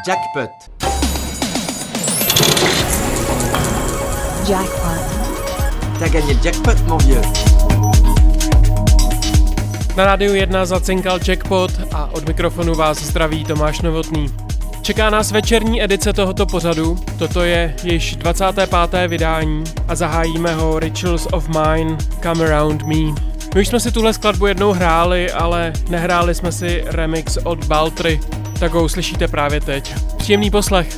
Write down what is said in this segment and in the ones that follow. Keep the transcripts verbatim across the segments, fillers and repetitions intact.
Jackpot. Jackpot. T'as gagné le jackpot, mon vieux. Na rádiu jedna zacinkal Jackpot a od mikrofonu vás zdraví Tomáš Novotný. Čeká nás večerní edice tohoto pořadu, toto je již dvacáté páté vydání a zahájíme ho Rituals of Mine, Come Around Me. My už jsme si tuhle skladbu jednou hráli, ale nehráli jsme si remix od Baltry, tak ho uslyšíte právě teď. Příjemný poslech.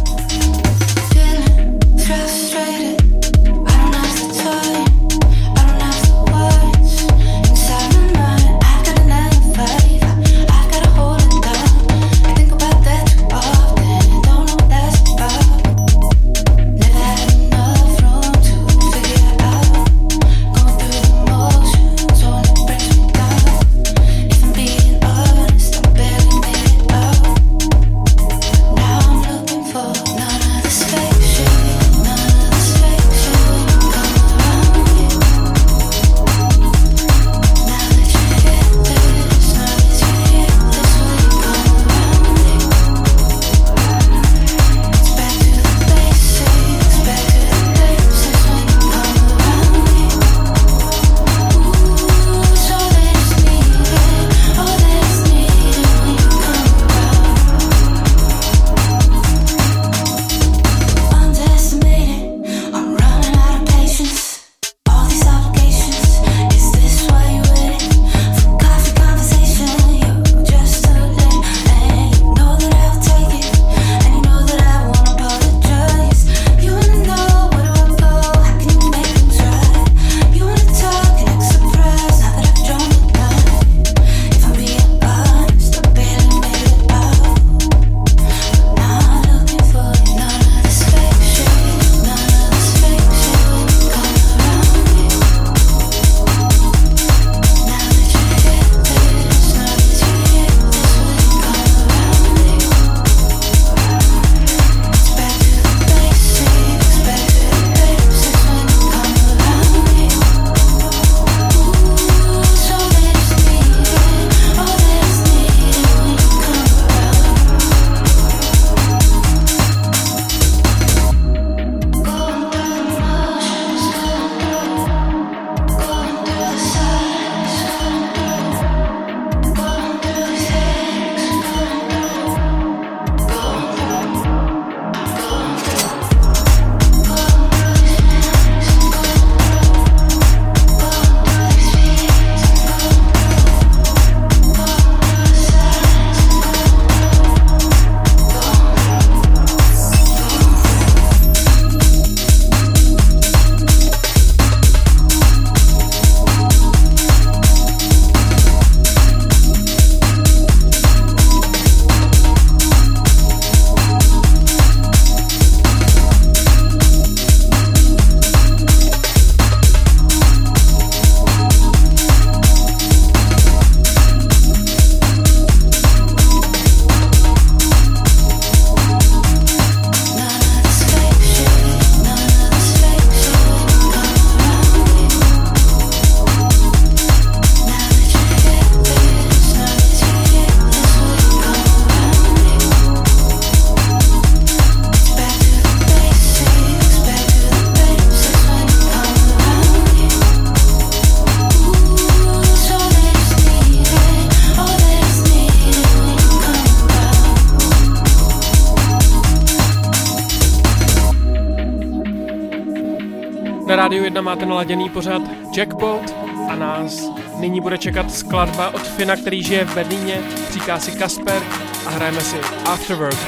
Na Rádiu jedna máte naladěný pořad Jackpot a nás nyní bude čekat skladba od Fina, který žije v Berlíně, říká si Kasper a hrajeme si Afterwork.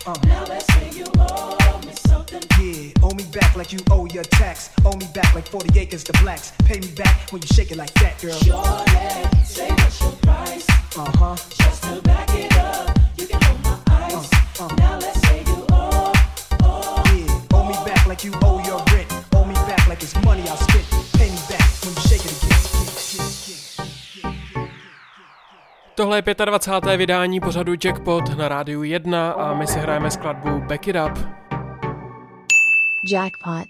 Uh. Now let's say you owe me something. Yeah, owe me back like you owe your tax. Owe me back like forty acres to blacks. Pay me back when you shake it like that, girl. Sure, yeah. Say what's your price. Uh-huh. Just to back it up, you can hold my ice. Uh, uh. Now let's say you owe, owe. Yeah, owe me back like you owe your rent. Owe me back like it's money I spent. Pay me back when you shake it again. Tohle je dvacáté páté vydání pořadu Jackpot na Rádiu jedna a my si hrajeme skladbu Back It Up. Jackpot.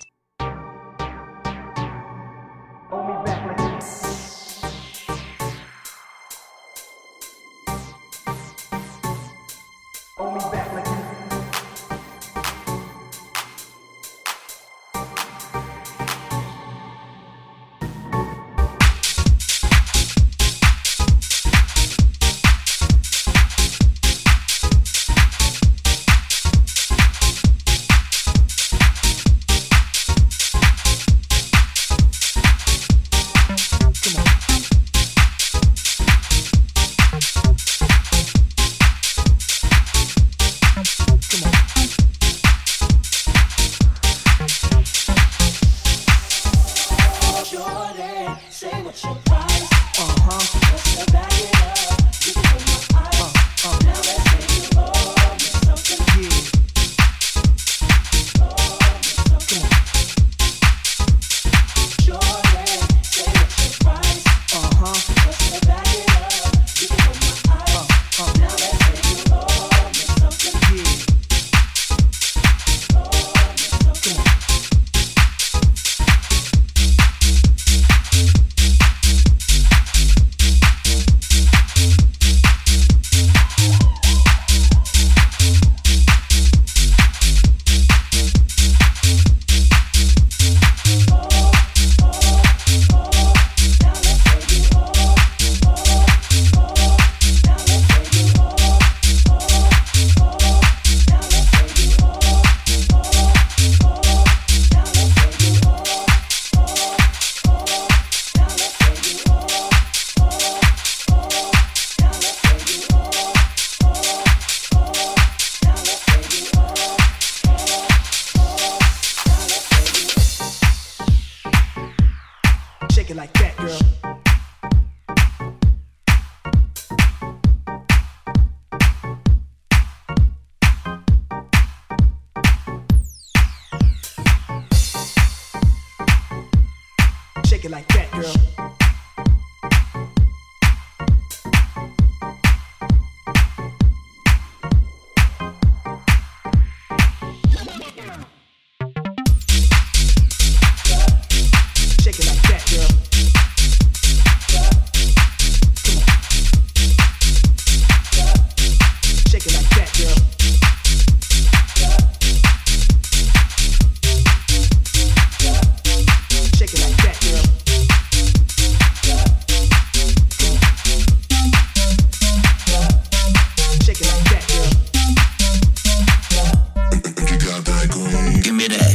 Shake it like that, girl. Shake it like that, girl. Come on. Shake it like that, girl. Shake it like that, girl. Shake it like that, girl. You got that green. Give me that.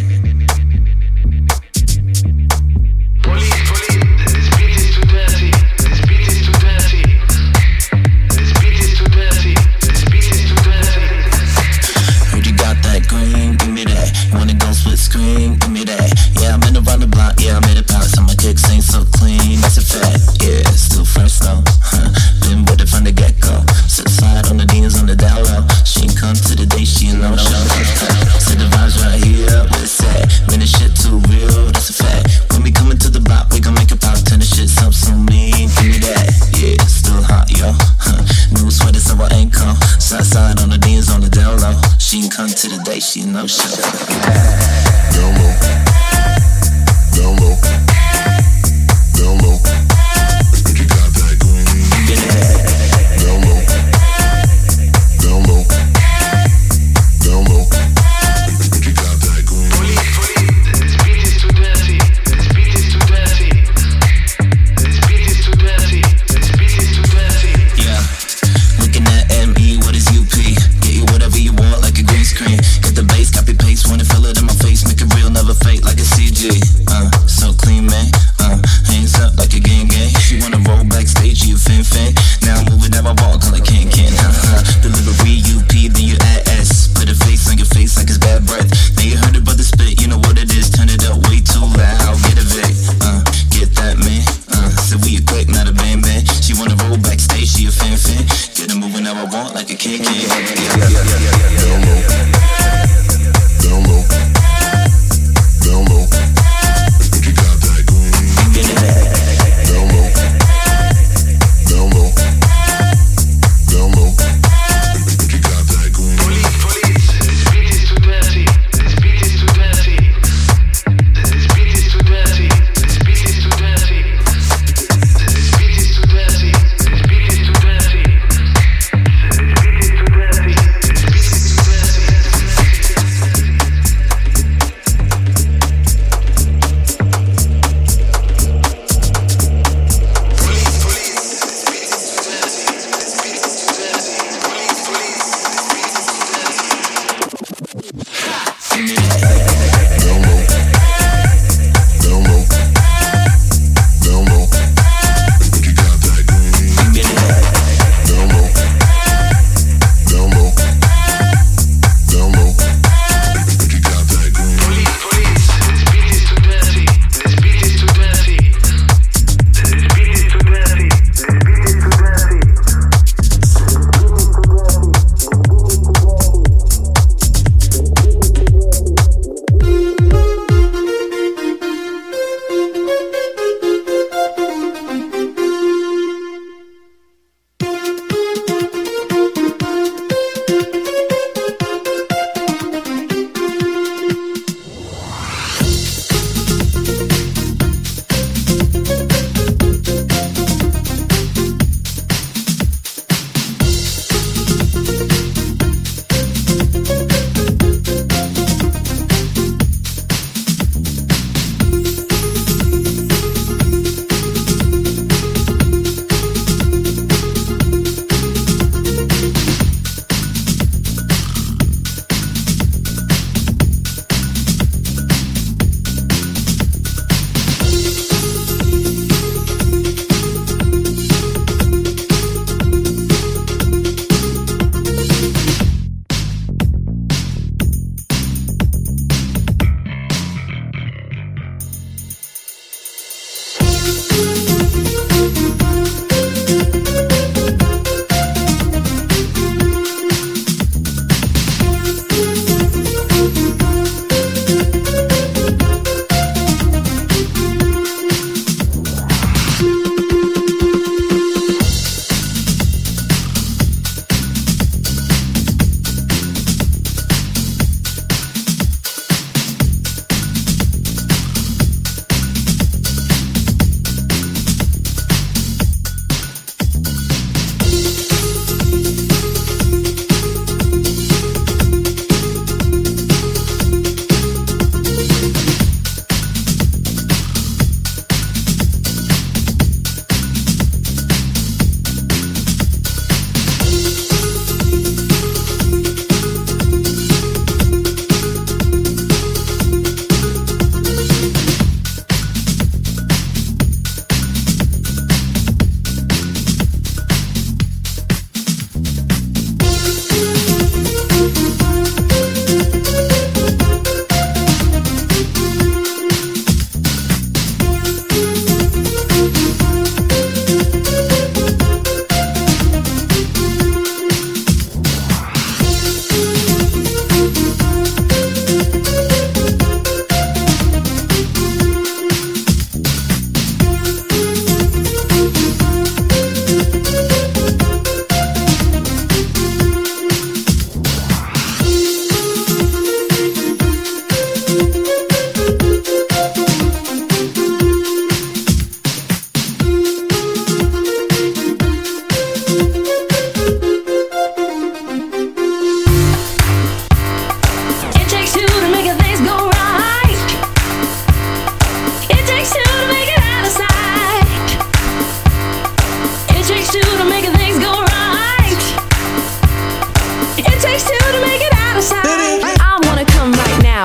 Police, police, this beat is too dirty. This beat is too dirty. This beat is too dirty. This beat is too dirty. Heard you got that green. Give me that. You wanna go split screen? Give me that. Yeah, I've been around the block. Yeah, I made it past. My kicks ain't so clean. That's a fact. Yeah, still fresh though. Huh. Been with it from the get go. Sit side on the D's on the down low. She ain't come to the day. She ain't no show. Said the vibes right here. What it said. Man, this shit too real. That's a fact. When we coming to the block, we gon' make it pop. Turn the shit up so mean. Give me that. Yeah, still hot, yo. Huh. New sweater, so I ain't come. Side side on the D's on the down low. She ain't come to the day. She ain't no show. Down low. Down low. Down low. You got that green. Get that. Down low. Down low. Down low. You got that green. Police, police, this beat is too dirty. This beat is too dirty. This beat is too dirty. This beat is too dirty. Yeah. Looking at M E, what is U P? Get you whatever you want like a green screen. Get the bass, copy paste, wanna feel it in my face. Make it real, never fake like a C G. Uh, so clean, like a kid. Down low, down low, down low. If you got that green, get it back. Down low, down low, down low. If you got that green. Police, police, this beat is too dirty. This beat is too dirty. This beat is too dirty. This beat is too dirty. This beat is too dirty. This beat is too dirty. This beat is too dirty. This beat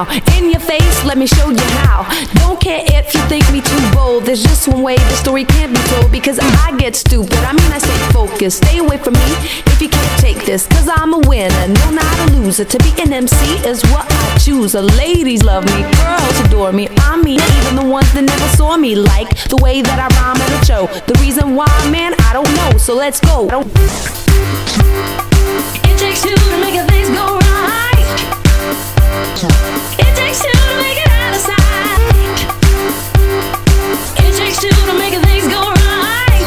now. In your face, let me show you how. Don't care if you think me too bold. There's just one way the story can't be told. Because I get stupid, I mean I stay focused. Stay away from me if you can't take this. Cause I'm a winner, no not a loser. To be an M C is what I choose. The ladies love me, girls adore me. I mean even the ones that never saw me. Like the way that I rhyme at a show. The reason why, man, I don't know. So let's go. It takes two to make things go right. It takes two to make it out of sight. It takes two to make things go right.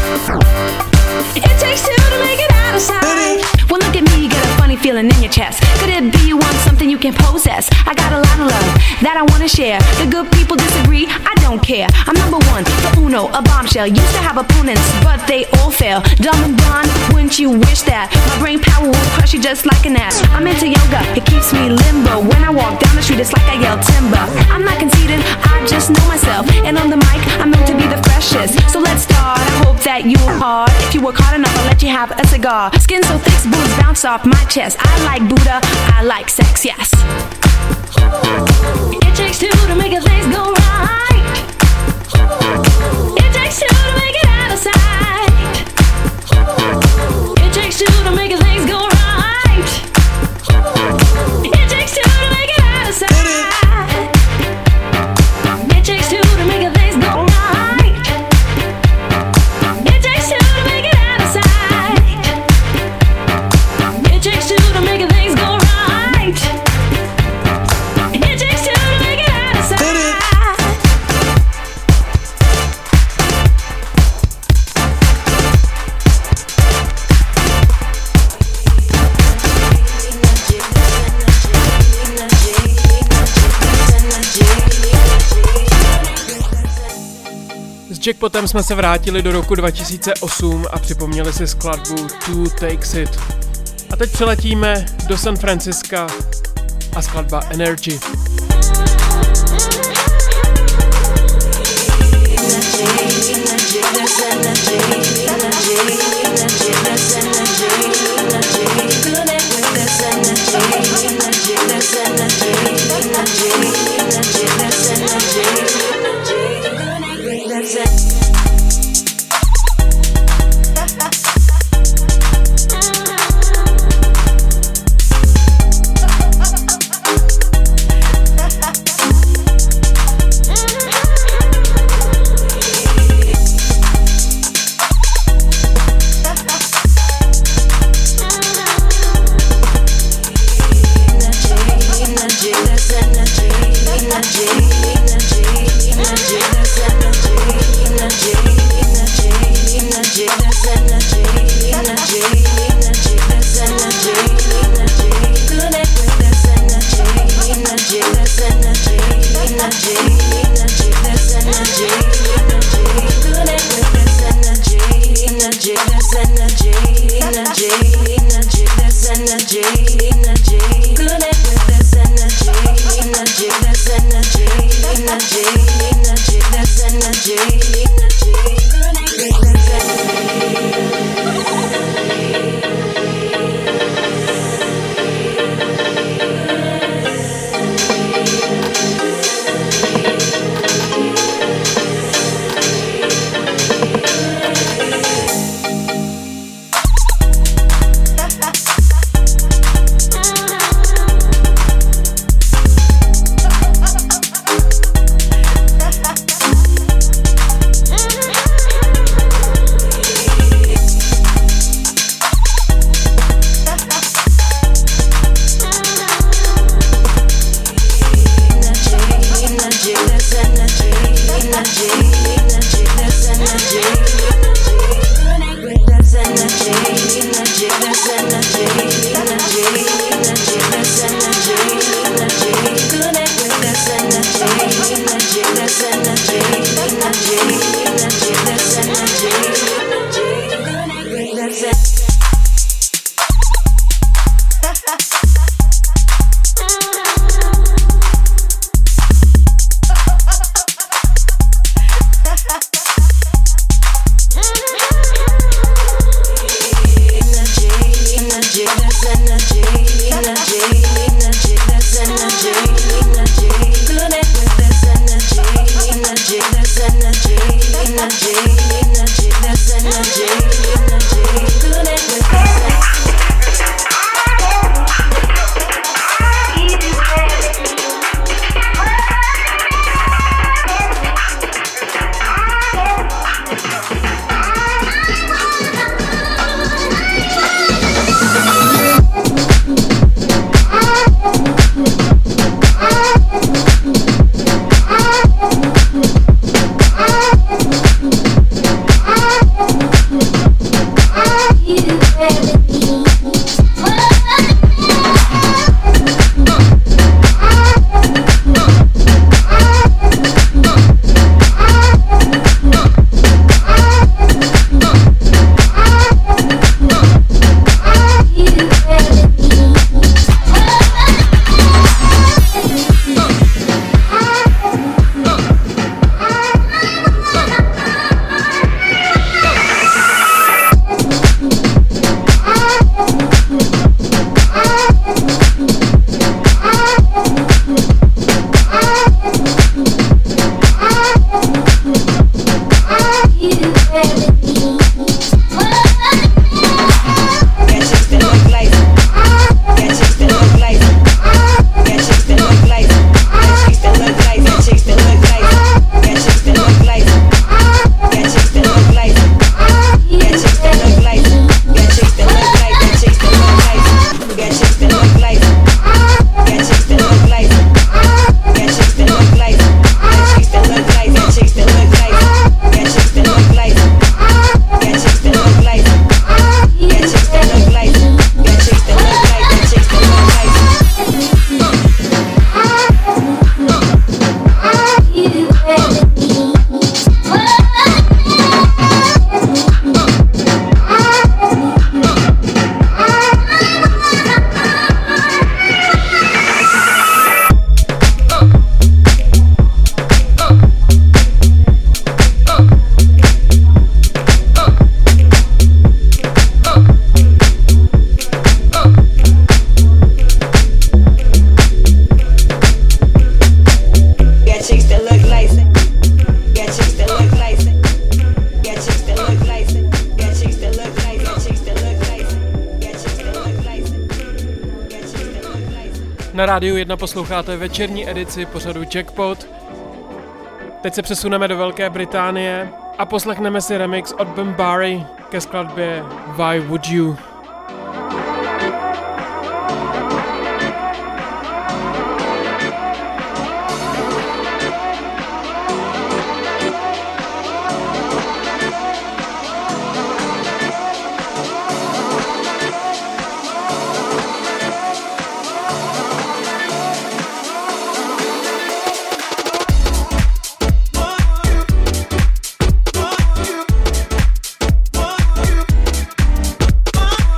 It takes two to make it out of sight. Well, look at me, you get a funny feeling in your chest. Could it be you want something you can possess? I got a lot of love that I wanna share. The good people disagree, I don't care. I'm number one, the uno, a bombshell. Used to have opponents, but they all fail. Dumb and done, wouldn't you wish that? My brain power will crush you just like an ass. I'm into yoga, it keeps me limbo. When I walk down the street, it's like I yell timber. I'm not conceited, I just know myself. And on the mic, I'm meant to be the freshest. So let's start, I hope that you are hard. If you work hard enough, I'll let you have a cigar. Skin so thick, boobs bounce off my chest. I like Buddha, I like sex, yes. It takes two to make things go right. It takes two to make it out of sight. It takes two to make things go right. It takes two to make it out of sight. It takes two to make things go right. It takes two to make it out of sight. It takes two to make things go right. It takes two to make it out of sight. S Jackpotem jsme se vrátili do roku dva tisíce osm a připomněli si skladbu Two Takes It. A teď přiletíme do San Francisca a skladba Energy. Energy, energy, Na Rádiu jedna posloucháte večerní edici pořadu Jackpot. Teď se přesuneme do Velké Británie a poslechneme si remix od Bambari ke skladbě Why Would You. Why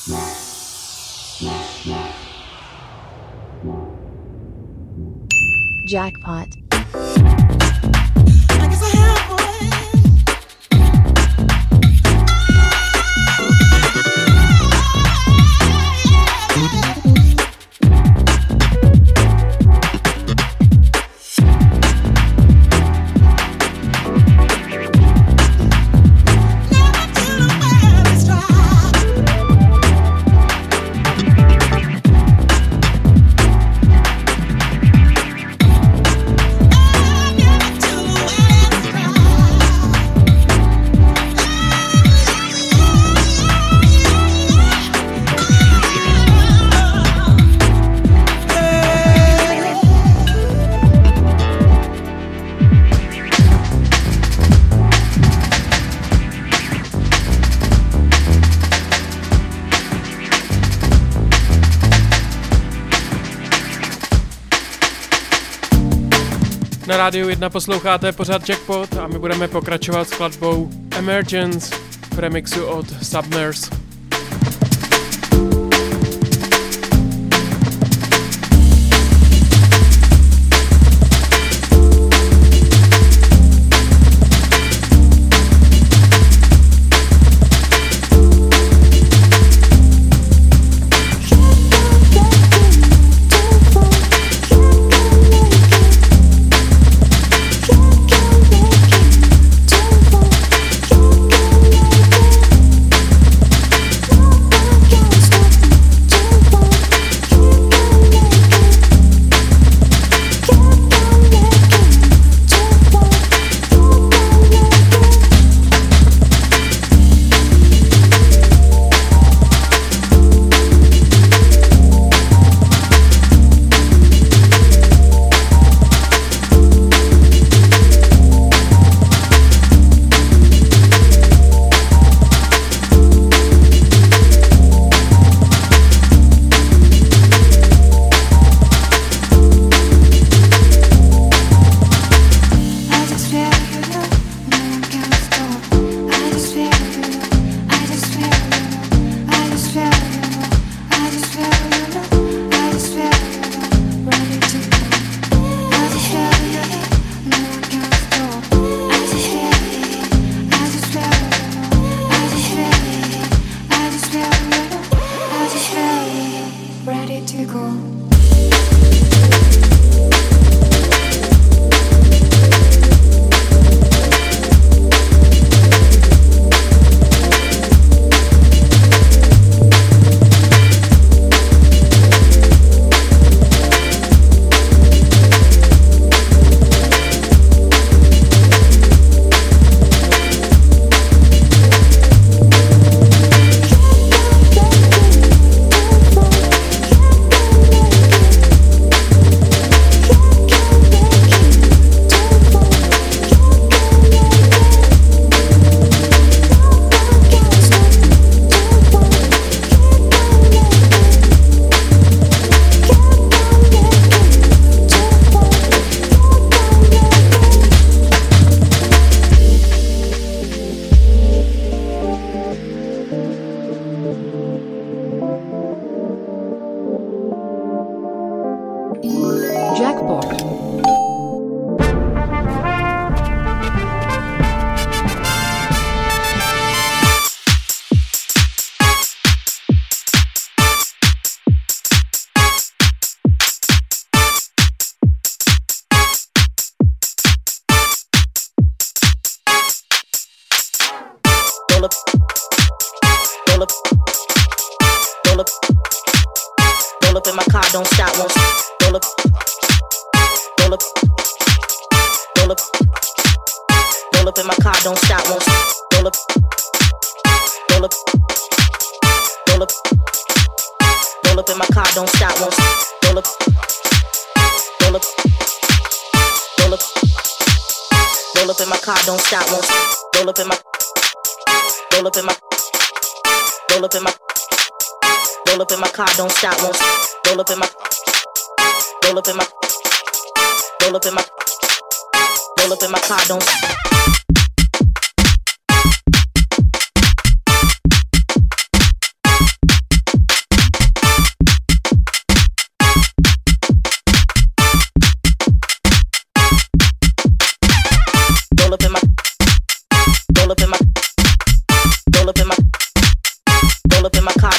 Jackpot. Na Rádiu jedna posloucháte pořad Jackpot a my budeme pokračovat s skladbou Emergence v remixu od Submerse.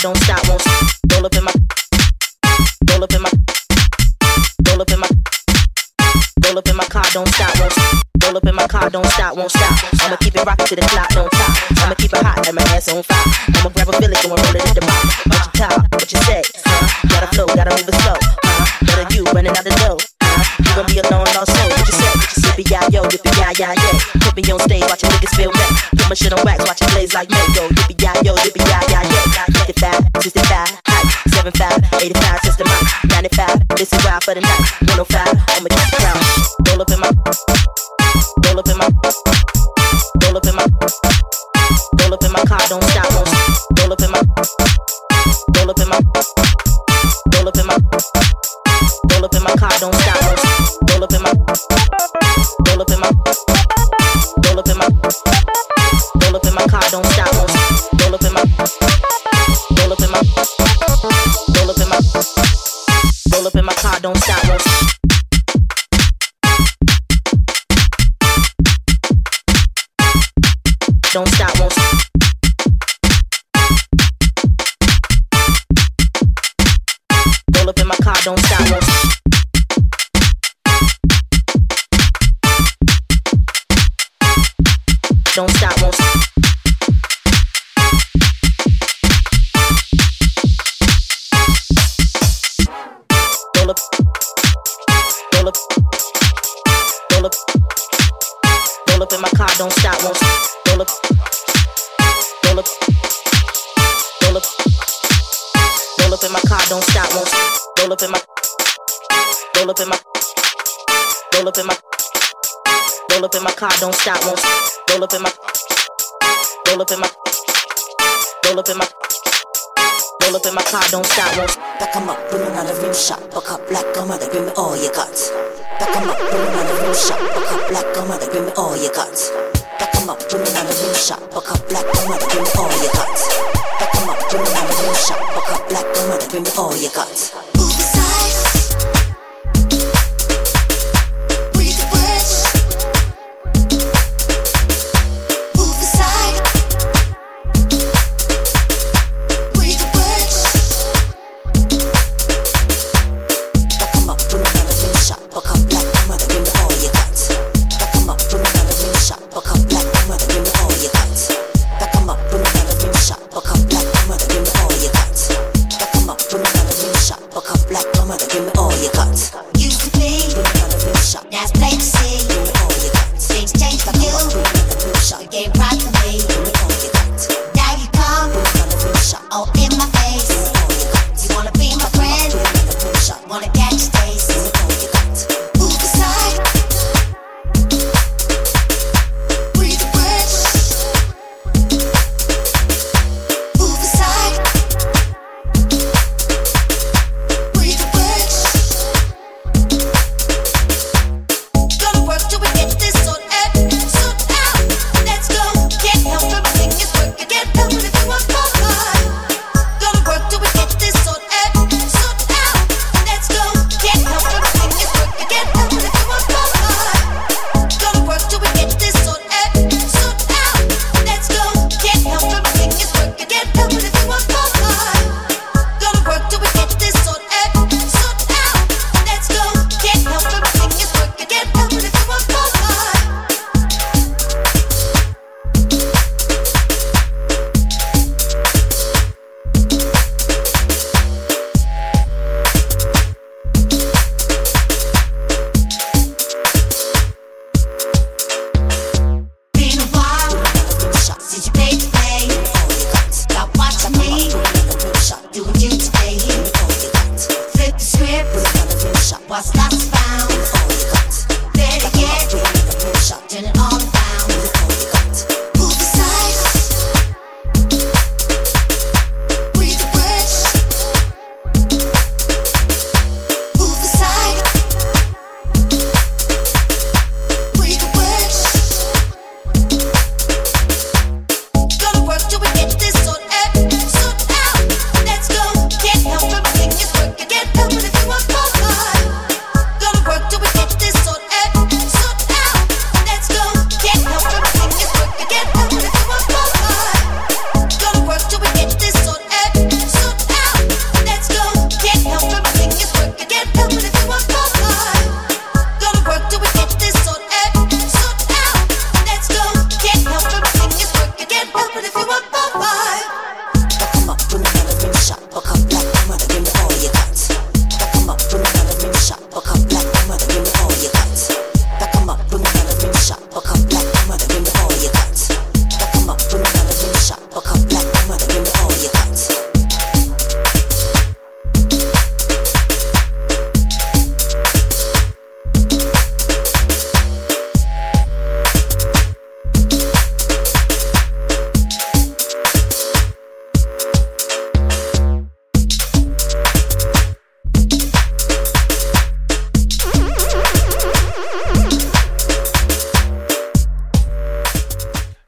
don't stop, won't stop. Roll up in my, roll up in my, roll up in my, roll up in my car, don't stop, won't stop. Roll up in my car, don't stop, won't stop. I'ma keep it rockin' to the clock, don't stop. I'ma keep it hot and my ass on fire. I'ma grab a village and roll it in the bottom. What you talk, what you say, huh? Gotta flow, gotta move it slow, huh? Better you running out the door, huh? You gon' be alone also. What you say? Yippee yi yo, yippee yi yi yeah. Put me on stage, watch niggas feel me. Put my shit on wax, watch it blaze like mango. Yippee yi yo, yippee yi yi yeah. fifty-five, sixty-five, height, seventy-five, eighty-five, since the mic, ninety-five. This is wild for the night. one oh five, I'ma keep it crown. Roll up in my, roll up in my, roll up in my, roll up in my car, don't stop, won't stop. Roll up in my, roll up in my, roll up in my, roll up in my car, don't stop, won't stop. Roll up in my, roll up in my, roll up in my, roll up in my car, don't stop, won't stop. Roll up in my, roll up in my, roll up in my, roll up in my car, don't stop, won't stop. Don't stop, won't stop. Roll up in my car, don't stop, won't stop. Don't stop, won't stop. Roll up, roll up, roll up, roll up in my car, don't stop, won't stop. Roll up, roll up, roll up, roll up in my car, don't stop, won't stop. Roll up in my, roll up in my, roll up in my, roll up in my car, don't stop, won't stop. Roll up in my, roll up in my, roll up in my, roll up in my car, don't stop, won't stop. Back 'em up with another rim shot, buck up like a mother, give me all you got. Back 'em up with another rim shot, buck up like a mother, give me all you got. Back 'em up with another rim shot, buck up like a mother, give me all you got. Back 'em up with another rim shot, buck up like a mother, give me all you got. Move aside. Breathe the bridge. Move aside. Breathe the bridge. Back 'em up with another rim shot, buck up like a mother, give me all you got. Back 'em up with another rim shot, buck up like a mother, give me all you got. Back 'em up with another rim shot, buck up like a mother, give me all you got. Back 'em up with another rim shot, buck up.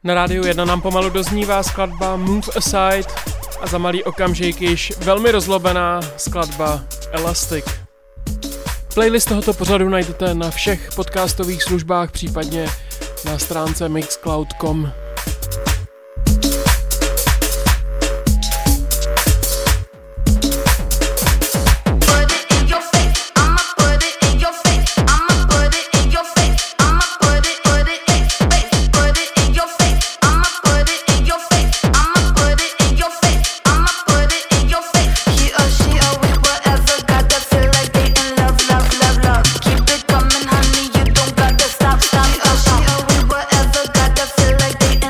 Na Rádiu jedna nám pomalu doznívá skladba Move Aside a za malý okamžik již velmi rozlobená skladba Elastic. Playlist tohoto pořadu najdete na všech podcastových službách, případně na stránce mixcloud tečka com. Stop, stop, oh, she, oh, we whatever, got to feel like they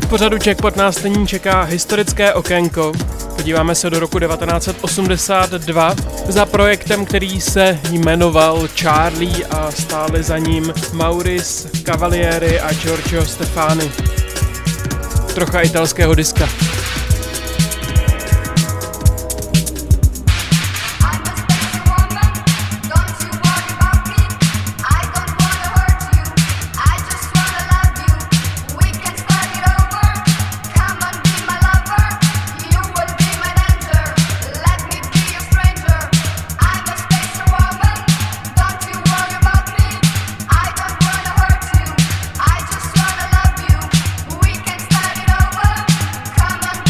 pořadu Jackpot nás nyní čeká historické okénko. Podíváme se do roku devatenáct set osmdesát dva za projektem, který se jmenoval Charlie a stáli za ním Maurice Cavalieri a Giorgio Stefani. Trocha italského diska. Come on.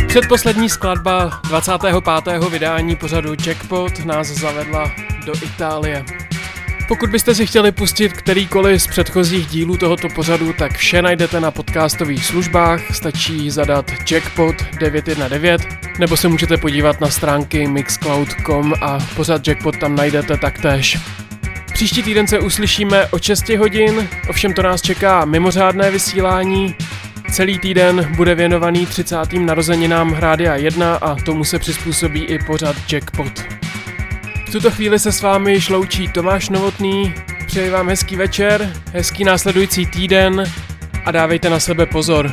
Předposlední skladba dvacátého pátého vydání pořadu Jackpot nás zavedla do Itálie. Pokud byste si chtěli pustit kterýkoliv z předchozích dílů tohoto pořadu, tak vše najdete na podcastových službách, stačí zadat Jackpot devět jedna devět, nebo se můžete podívat na stránky mixcloud tečka com a pořad Jackpot tam najdete taktéž. Příští týden se uslyšíme o šest hodin, ovšem to nás čeká mimořádné vysílání. Celý týden bude věnovaný třicátým narozeninám Rádia jedna a tomu se přizpůsobí i pořad Jackpot. V tuto chvíli se s vámi již loučí Tomáš Novotný, přeji vám hezký večer, hezký následující týden a dávejte na sebe pozor.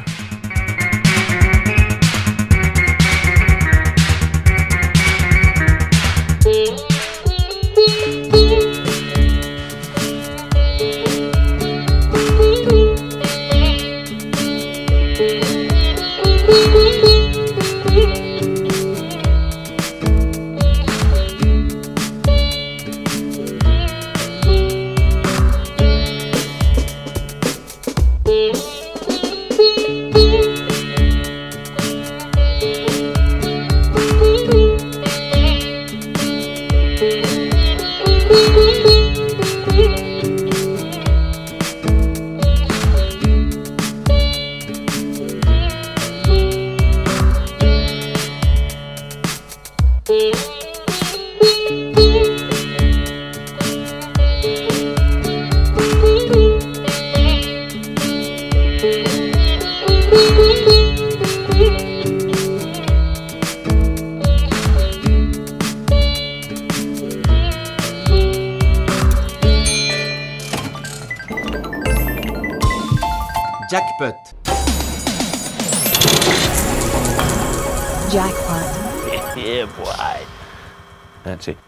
Jackpot. Jackpot. Yeah, boy. That's it.